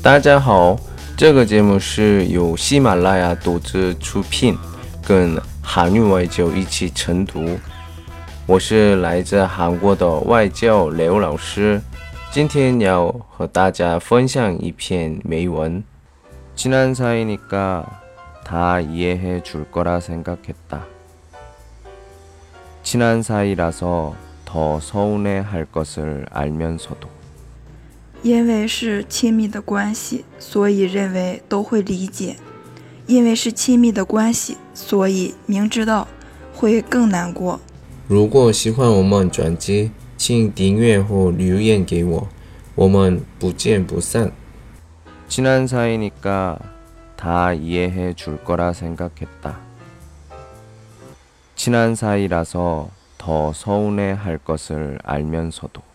大家好，这个节目是由喜马拉雅独自出品，跟韩语外教一起晨读。我是来自韩国的外教刘老师，今天要和大家分享一篇美文。친한 사이니까 다 이해해 줄 거라 생각했다. 친한 사이라서 더 서운해 할 것을 알면서도. 因为是亲密的关系，所以认为都会理解；因为是亲密的关系，所以明知道会更难过。 如果喜欢我们专辑，请订阅或留言给我，我们不见不散。친한 사이니까 다 이해해 줄 거라 생각했다. 친한 사이라서 더 서운해 할 것을 알면서도.